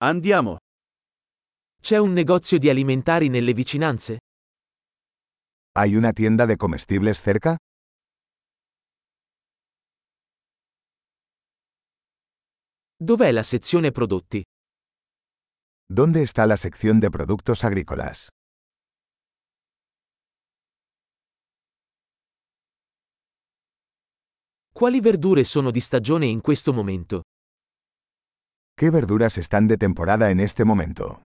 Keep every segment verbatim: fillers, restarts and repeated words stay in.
Andiamo. C'è un negozio di alimentari nelle vicinanze? ¿Hay una tienda de comestibles cerca? Dov'è la sezione prodotti? ¿Dónde está la sección de productos agrícolas? Quali verdure sono di stagione in questo momento? ¿Qué verduras están de temporada en este momento?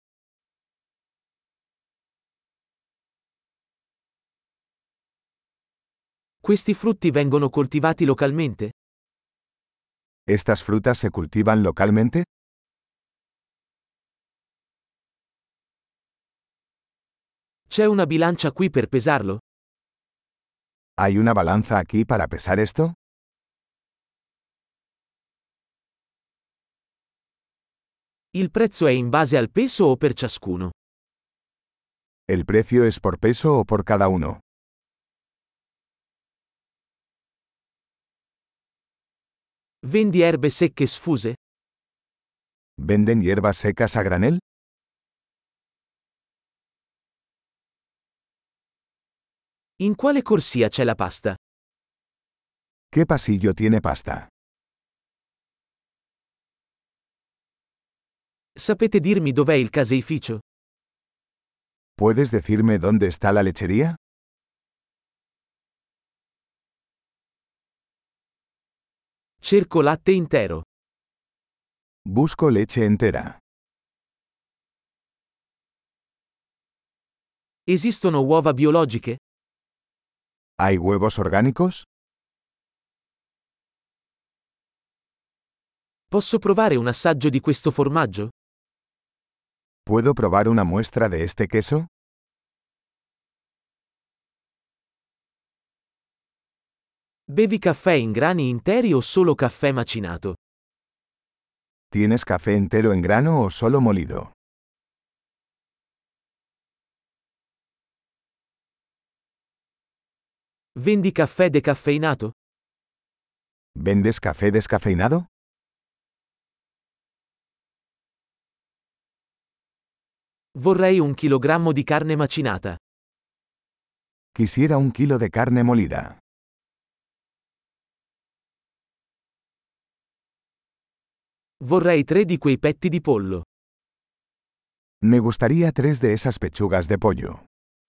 Questi frutti vengono coltivati localmente? ¿Estas frutas se cultivan localmente? C'è una bilancia qui per pesarlo? ¿Hay una balanza aquí para pesar esto? Il prezzo è in base al peso o per ciascuno? ¿El precio es por peso o por cada uno? Vendi erbe secche sfuse? ¿Venden hierbas secas a granel? In quale corsia c'è la pasta? ¿Qué pasillo tiene pasta? Sapete dirmi dov'è il caseificio? ¿Puedes decirme dónde está la lechería? Cerco latte intero. Busco leche entera. Esistono uova biologiche? ¿Hay huevos orgánicos? Posso provare un assaggio di questo formaggio? ¿Puedo probar una muestra de este queso? Bevi caffè in grani interi o solo caffè macinato? ¿Tienes café entero en grano o solo molido? Vendi caffè decaffeinato? ¿Vendes café descafeinado? Vorrei un chilogrammo di carne macinata. Quisiera un kilo de carne molida. Vorrei tre di quei petti di pollo. Me gustaría tres de esas pechugas de pollo.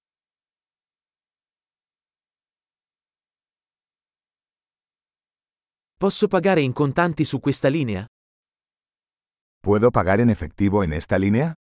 Posso pagare in contanti su questa linea? ¿Puedo pagar en efectivo en esta línea?